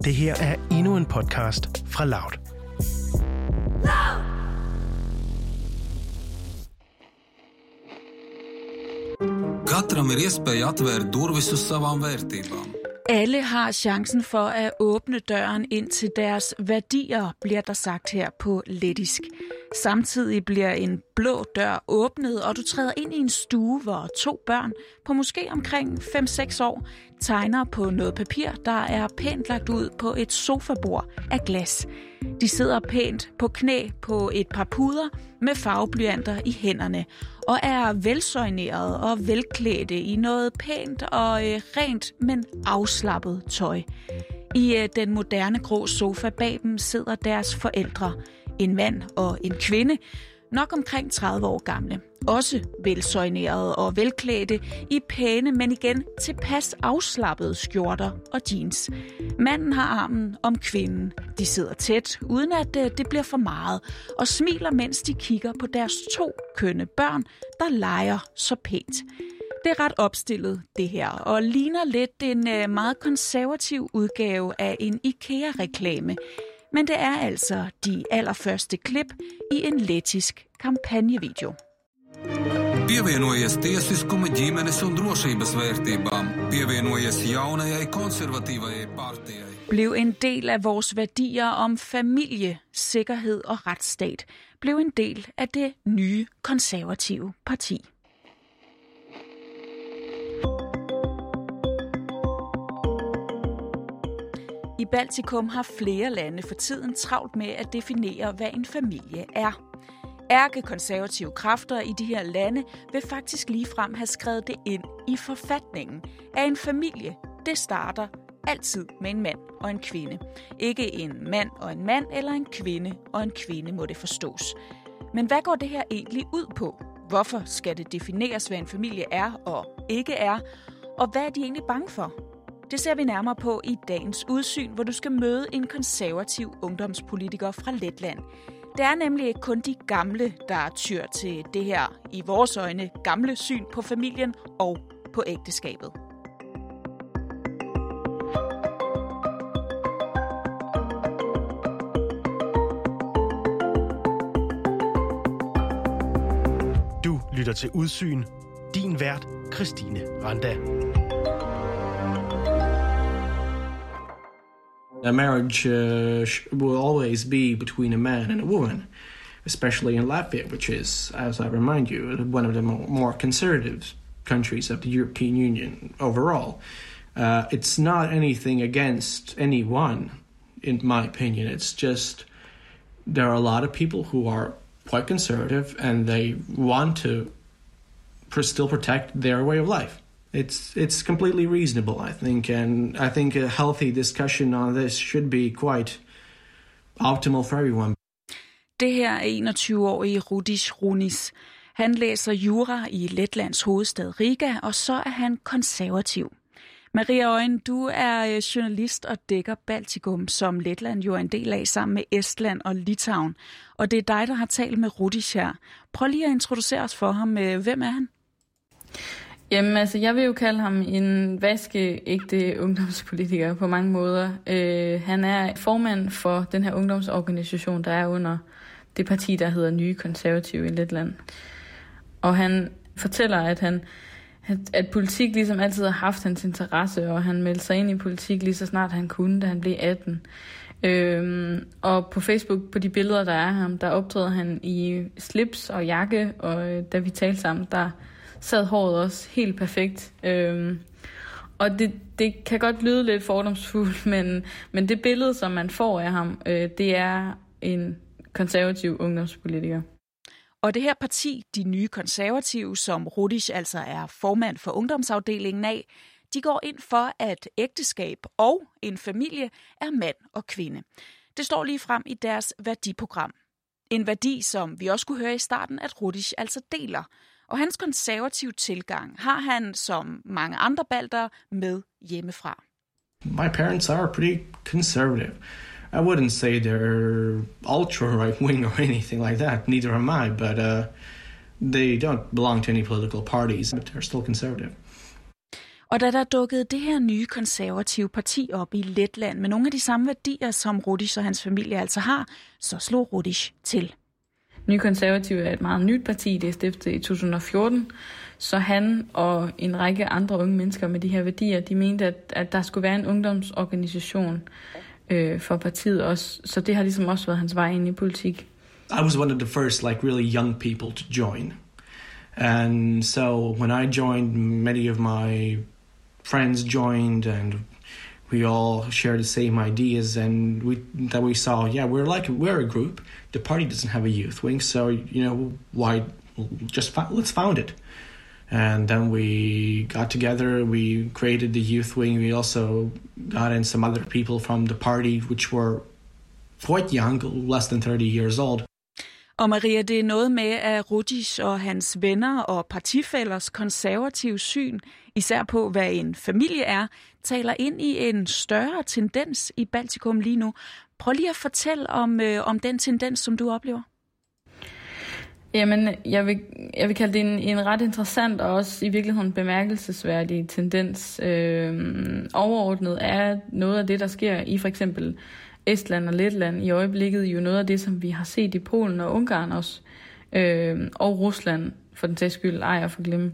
Det her er endnu en podcast fra Loud. Katram ir iespēja atvērt durvis uz savām vērtībām. Alle har chancen for at åbne døren ind til deres værdier, bliver der sagt her på lettisk. Samtidig bliver en blå dør åbnet, og du træder ind i en stue, hvor 2 børn på måske omkring 5-6 år tegner på noget papir, der er pænt lagt ud på et sofabord af glas. De sidder pænt på knæ på et par puder med farveblyanter i hænderne og er velsøjnerede og velklædte i noget pænt og rent, men afslappet tøj. I den moderne grå sofa bag dem sidder deres forældre, en mand og en kvinde, nok omkring 30 år gamle. Også velsøjnerede og velklædte i pæne, men igen tilpas afslappede skjorter og jeans. Manden har armen om kvinden. De sidder tæt, uden at det bliver for meget, og smiler, mens de kigger på deres 2 kønne børn, der leger så pænt. Det er ret opstillet, det her, og ligner lidt en meget konservativ udgave af en IKEA-reklame. Men det er altså de allerførste klip i en lettisk kampagnevideo. Pievienojies tiesiskuma, ģimenes un drošības vērtībām. Pievienojies jaunajai konservatīvajai partijai. Bliv en del af vores værdier om familie, sikkerhed og retsstat. Bliv en del af det nye konservative parti. I Baltikum har flere lande for tiden travlt med at definere, hvad en familie er. Ærkekonservative kræfter i de her lande vil faktisk ligefrem have skrevet det ind i forfatningen, at en familie, det starter altid med en mand og en kvinde. Ikke en mand og en mand, eller en kvinde og en kvinde, må det forstås. Men hvad går det her egentlig ud på? Hvorfor skal det defineres, hvad en familie er og ikke er? Og hvad er de egentlig bange for? Det ser vi nærmere på i dagens udsyn, hvor du skal møde en konservativ ungdomspolitiker fra Letland. Det er nemlig ikke kun de gamle, der tyr til det her, i vores øjne, gamle syn på familien og på ægteskabet. Du lytter til Udsyn. Din vært, Christine Randa. A marriage will always be between a man and a woman, especially in Latvia, which is, as I remind you, one of the more conservative countries of the European Union overall. It's not anything against anyone, in my opinion. It's just there are a lot of people who are quite conservative and they want to still protect their way of life. It's completely reasonable, I think, and I think a healthy discussion on this should be quite optimal for everyone. Det her er 21-årige Rudis Runis. Han læser jura i Letlands hovedstad Riga, og så er han konservativ. Maria Øjen, du er journalist og dækker Baltikum, som Letland jo er en del af sammen med Estland og Litauen. Og det er dig, der har talt med Rudis her. Prøv lige at introducere os for ham. Hvem er han? Jamen altså, jeg vil jo kalde ham en vaskeægte ungdomspolitiker på mange måder. Han er formand for den her ungdomsorganisation, der er under det parti, der hedder Nye Konservative i Letland. Og han fortæller, at politik ligesom altid har haft hans interesse, og han meldte sig ind i politik lige så snart han kunne, da han blev 18. Og på Facebook, på de billeder, der er ham, der optræder han i slips og jakke, og da vi talte sammen, der sad håret også helt perfekt. Og det kan godt lyde lidt fordomsfuldt, men det billede, som man får af ham, det er en konservativ ungdomspolitiker. Og det her parti, de nye konservative, som Rudis altså er formand for ungdomsafdelingen af, de går ind for, at ægteskab og en familie er mand og kvinde. Det står lige frem i deres værdiprogram. En værdi, som vi også kunne høre i starten, at Rudis altså deler. Og hans konservative tilgang har han, som mange andre baltere, med hjemmefra. My parents are pretty conservative. I wouldn't say they're ultra right-wing or anything like that. Neither am I, but they don't belong to any political parties, but they're still conservative. Og da der dukkede det her nye konservative parti op i Letland med nogle af de samme værdier, som Rudiš og hans familie altså har, så slog Rudiš til. Nye Konservative er et meget nyt parti, det er stiftet i 2014, så han og en række andre unge mennesker med de her værdier, de mente, at der skulle være en ungdomsorganisation for partiet også, så det har ligesom også været hans vej ind i politik. I was one of the first really young people to join. And so when I joined, many of my friends joined, and we all share the same ideas, and we saw, we're a group. The party doesn't have a youth wing, so why let's found it. And then we got together, we created the youth wing. We also got in some other people from the party, which were quite young, less than 30 years old. Og Maria, det er noget med, at Rudiš og hans venner og partifællers konservative syn, især på, hvad en familie er, taler ind i en større tendens i Baltikum lige nu. Prøv lige at fortælle om den tendens, som du oplever. Jamen, jeg vil kalde det en ret interessant og også i virkeligheden bemærkelsesværdig tendens. Overordnet er noget af det, der sker i for eksempel Estland og Letland i øjeblikket, jo noget af det, som vi har set i Polen og Ungarn også, og Rusland, for den sags skyld, ej at forglemme.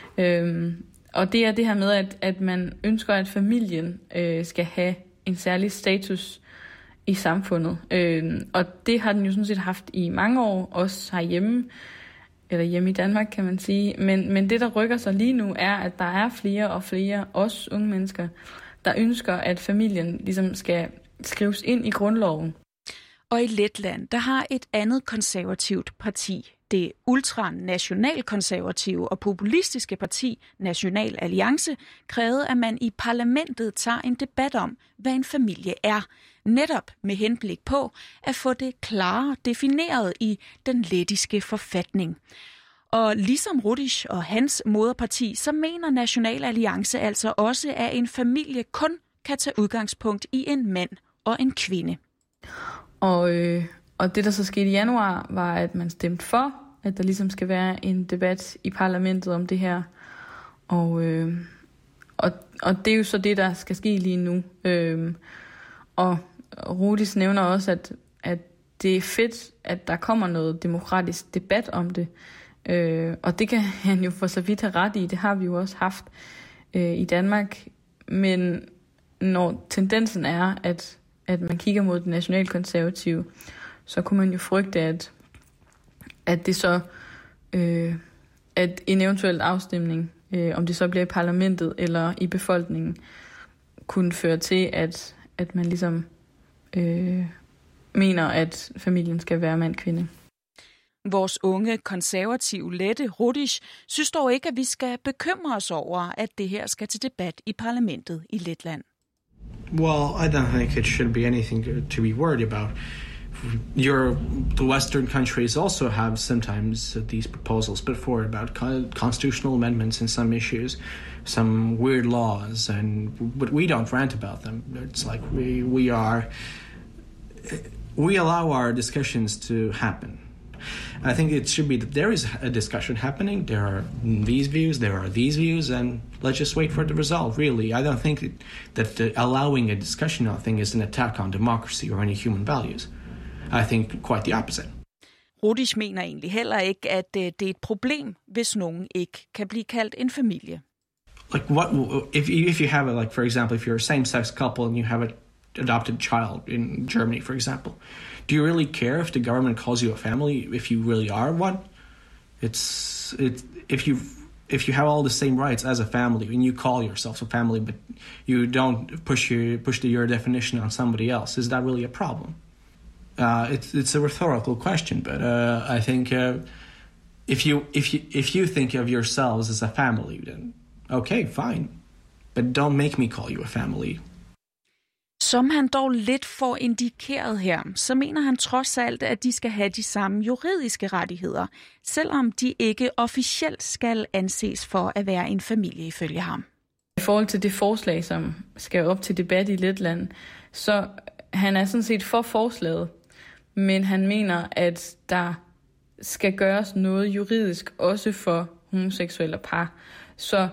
Og det er det her med, at man ønsker, at familien skal have en særlig status i samfundet. Og det har den jo sådan set haft i mange år, også herhjemme, eller hjemme i Danmark, kan man sige. Men det, der rykker sig lige nu, er, at der er flere og flere, også unge mennesker, der ønsker, at familien ligesom skal skrives ind i grundloven. Og i Letland, der har et andet konservativt parti, det ultranationalkonservative og populistiske parti National Alliance, krævede, at man i parlamentet tager en debat om, hvad en familie er, netop med henblik på at få det klarere defineret i den lettiske forfatning. Og ligesom Rudiš og hans moderparti, så mener National Alliance altså også, at en familie kun kan tage udgangspunkt i en mand og en kvinde. Og det, der så skete i januar, var, at man stemte for, at der ligesom skal være en debat i parlamentet om det her. Og det er jo så det, der skal ske lige nu. Og Rudiš nævner også, at det er fedt, at der kommer noget demokratisk debat om det. Og det kan han jo for så vidt have ret i. Det har vi jo også haft i Danmark. Men når tendensen er, at man kigger mod det nationalkonservative, så kunne man jo frygte, at det så, at en eventuel afstemning, om det så bliver i parlamentet eller i befolkningen, kunne føre til, at man ligesom mener, at familien skal være mand-kvinde. Vores unge konservative Lette Rudiš synes dog ikke, at vi skal bekymre os over, at det her skal til debat i parlamentet i Letland. Well, I don't think it should be anything to be worried about. The Western countries also have sometimes these proposals put forward about constitutional amendments in some issues, some weird laws, but we don't rant about them. It's like we allow our discussions to happen. I think it should be that there is a discussion happening. There are these views, there are these views, and let's just wait for the result. Really, I don't think that allowing a discussion on thing is an attack on democracy or any human values. I think quite the opposite. Rudiš mener egentlig heller ikke, at det er et problem, hvis nogen ikke kan blive kaldt en familie. Like what if you have for example, if you're a same-sex couple and you have an adopted child in Germany, for example, do you really care if the government calls you a family if you really are one? It's if you have all the same rights as a family and you call yourself a family, but you don't push your definition on somebody else, is that really a problem? It's a rhetorical question, but I think if you think of yourselves as a family, then okay, fine, but don't make me call you a family. Som han dog lidt får indikeret her, så mener han trods alt, at de skal have de samme juridiske rettigheder, selvom de ikke officielt skal anses for at være en familie ifølge ham. I forhold til det forslag, som skal op til debat i Letland, så han er sådan set for forslaget, men han mener, at der skal gøres noget juridisk også for homoseksuelle par. Så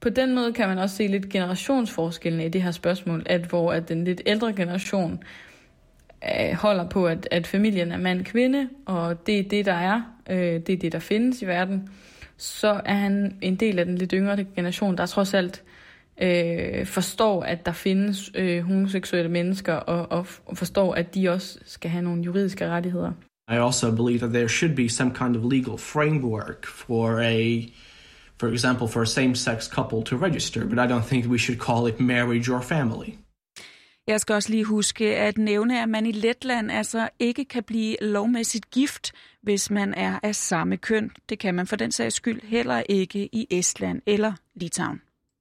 på den måde kan man også se lidt generationsforskellen i det her spørgsmål, hvor den lidt ældre generation holder på, at familien er mand-kvinde, og det er det, der er. Det er det, der findes i verden. Så er han en del af den lidt yngre generation, der trods alt forstår, at der findes homoseksuelle mennesker, og forstår, at de også skal have nogle juridiske rettigheder. I also believe that there should be some kind of legal framework for example, for a same-sex couple to register, but I don't think we should call it marriage or family. Jeg skal også lige huske at nævne, at man i Letland altså ikke kan blive lovmæssigt gift, hvis man er af samme køn. Det kan man for den sags skyld heller ikke i Estland eller Litauen.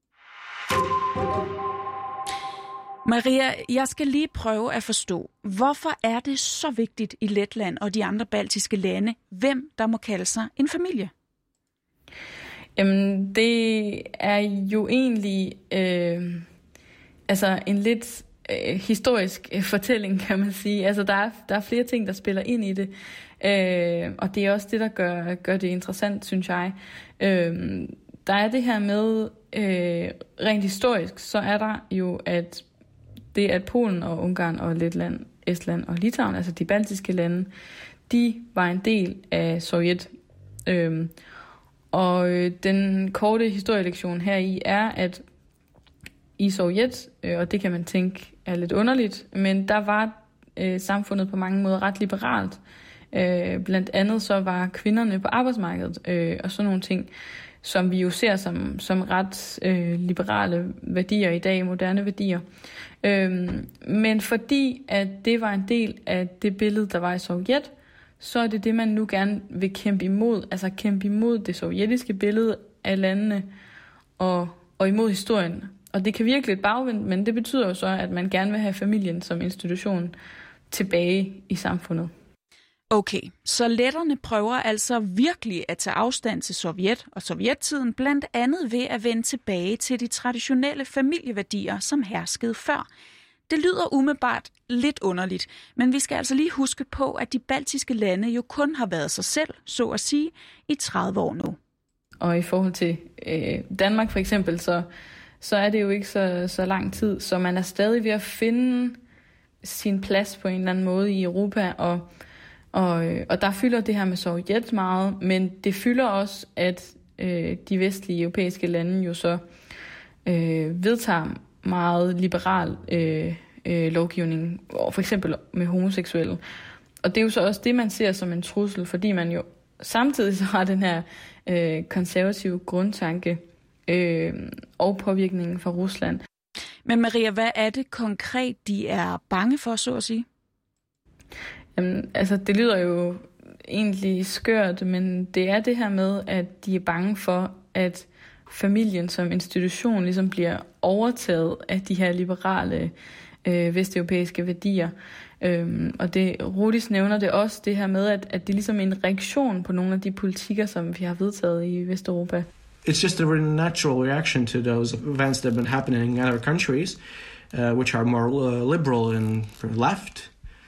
Maria, jeg skal lige prøve at forstå, hvorfor er det så vigtigt i Letland og de andre baltiske lande, hvem der må kalde sig en familie? Jamen, det er jo egentlig en lidt historisk fortælling, kan man sige. Altså, der er flere ting, der spiller ind i det, og det er også det, der gør det interessant, synes jeg. Der er det her med, rent historisk, så er der jo, at Polen og Ungarn og Letland, Estland og Litauen, altså de baltiske lande, de var en del af Sovjet. Og den korte historielektion heri er, at i Sovjet, og det kan man tænke er lidt underligt, men der var samfundet på mange måder ret liberalt. Blandt andet så var kvinderne på arbejdsmarkedet og sådan nogle ting, som vi jo ser som ret liberale værdier i dag, moderne værdier. Men fordi at det var en del af det billede, der var i Sovjet, så er det man nu gerne vil kæmpe imod, altså kæmpe imod det sovjetiske billede af landene og imod historien. Og det kan virke lidt bagvendt, men det betyder jo så, at man gerne vil have familien som institution tilbage i samfundet. Okay, så letterne prøver altså virkelig at tage afstand til Sovjet og sovjettiden, blandt andet ved at vende tilbage til de traditionelle familieværdier, som herskede før. Det lyder umiddelbart lidt underligt, men vi skal altså lige huske på, at de baltiske lande jo kun har været sig selv, så at sige, i 30 år nu. Og i forhold til Danmark for eksempel, så er det jo ikke så lang tid, så man er stadig ved at finde sin plads på en eller anden måde i Europa, og der fylder det her med Sovjet meget, men det fylder også, at de vestlige europæiske lande jo så vedtager meget liberal lovgivning, for eksempel med homoseksuelle. Og det er jo så også det, man ser som en trussel, fordi man jo samtidig så har den her konservative grundtanke og påvirkningen fra Rusland. Men Maria, hvad er det konkret, de er bange for, så at sige? Jamen, altså, det lyder jo egentlig skørt, men det er det her med, at de er bange for, at familien som institution ligesom bliver overtaget af de her liberale vesteuropæiske værdier. Og det Rudis nævner det også, det her med, at det er ligesom en reaktion på nogle af de politikker, som vi har vedtaget i Vesteuropa. It's just a very natural reaction to those events that have been happening in other countries, which are more liberal and left.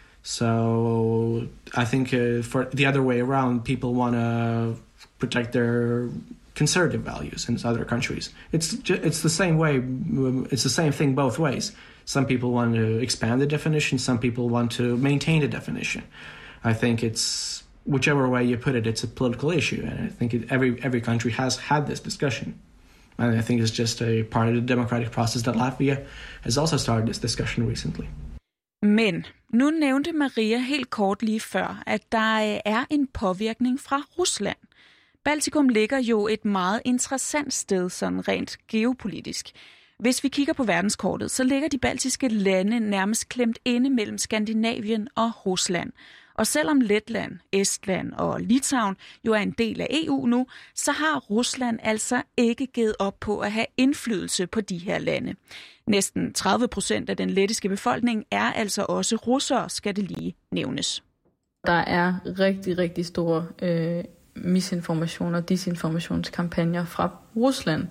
So I think for the other way around, people want to protect their conservative values in other countries. It's the same way. It's the same thing both ways. Some people want to expand the definition. Some people want to maintain the definition. I think it's whichever way you put it, it's a political issue, and I think every country has had this discussion. And I think it's just a part of the democratic process that Latvia has also started this discussion recently. Men nu nævnte Maria helt kort lige før, at der er en påvirkning fra Rusland. Baltikum ligger jo et meget interessant sted, sådan rent geopolitisk. Hvis vi kigger på verdenskortet, så ligger de baltiske lande nærmest klemt inde mellem Skandinavien og Rusland. Og selvom Letland, Estland og Litauen jo er en del af EU nu, så har Rusland altså ikke givet op på at have indflydelse på de her lande. Næsten 30% af den lettiske befolkning er altså også russere, skal det lige nævnes. Der er rigtig, rigtig store misinformation og disinformationskampagner fra Rusland,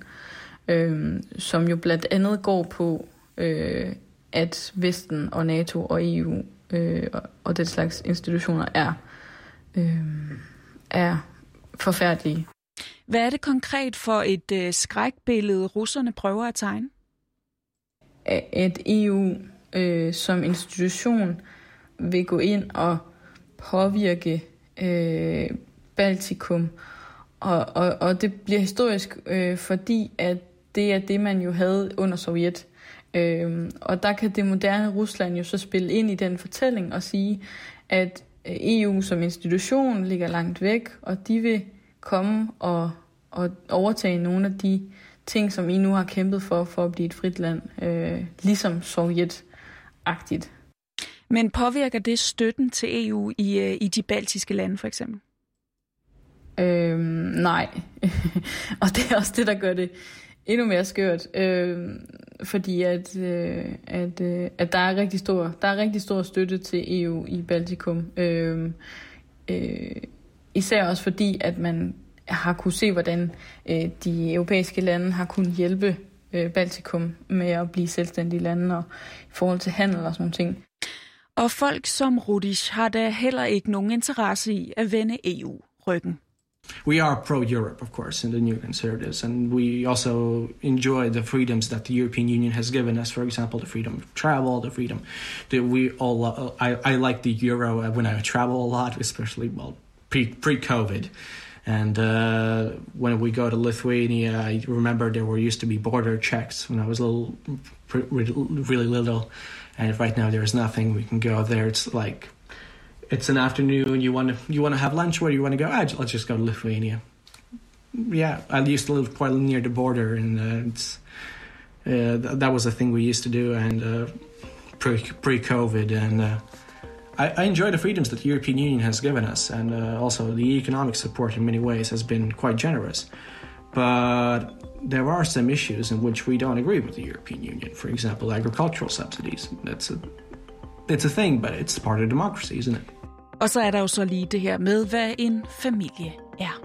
som jo blandt andet går på, at Vesten og NATO og EU og den slags institutioner er forfærdelige. Hvad er det konkret for et skrækbillede, russerne prøver at tegne? At EU som institution vil gå ind og påvirke Baltikum. Og det bliver historisk, fordi at det er det, man jo havde under Sovjet. Og der kan det moderne Rusland jo så spille ind i den fortælling og sige, at EU som institution ligger langt væk, og de vil komme og overtage nogle af de ting, som I nu har kæmpet for at blive et frit land, ligesom Sovjet-agtigt. Men påvirker det støtten til EU i de baltiske lande for eksempel? Nej. Og det er også det, der gør det endnu mere skørt. Fordi at der er rigtig stor støtte til EU i Baltikum. Især også fordi, at man har kunne se, hvordan de europæiske lande har kunnet hjælpe Baltikum med at blive selvstændige lande og i forhold til handel og sådan nogle ting. Og folk som Rudish har da heller ikke nogen interesse i at vende EU ryggen. We are pro-Europe, of course, in the New Conservatives, and we also enjoy the freedoms that the European Union has given us. For example, the freedom of travel, the freedom that we all. I like the euro when I travel a lot, especially pre-COVID. And when we go to Lithuania, I remember there used to be border checks when I was really little, and right now there's nothing. We can go there. It's like. It's an afternoon. You want to have lunch. Where do you want to go? I'll just go to Lithuania. Yeah, I used to live quite near the border, and that was a thing we used to do. And pre-COVID, and I enjoy the freedoms that the European Union has given us, and also the economic support in many ways has been quite generous. But there are some issues in which we don't agree with the European Union. For example, agricultural subsidies. It's a thing, but it's part of democracy, isn't it? Og så er der jo så lige det her med, hvad en familie er.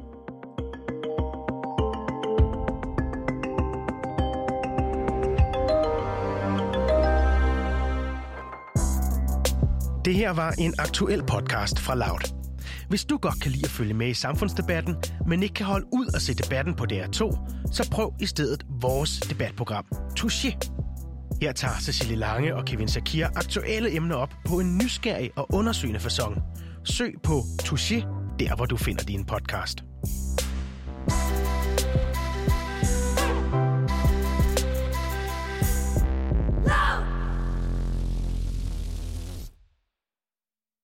Det her var en aktuel podcast fra Loud. Hvis du godt kan lide at følge med i samfundsdebatten, men ikke kan holde ud og se debatten på DR2, så prøv i stedet vores debatprogram, Touché. Her tager Cecilie Lange og Kevin Shakir aktuelle emner op på en nysgerrig og undersøgende facon. Søg på Touché, der hvor du finder din podcast.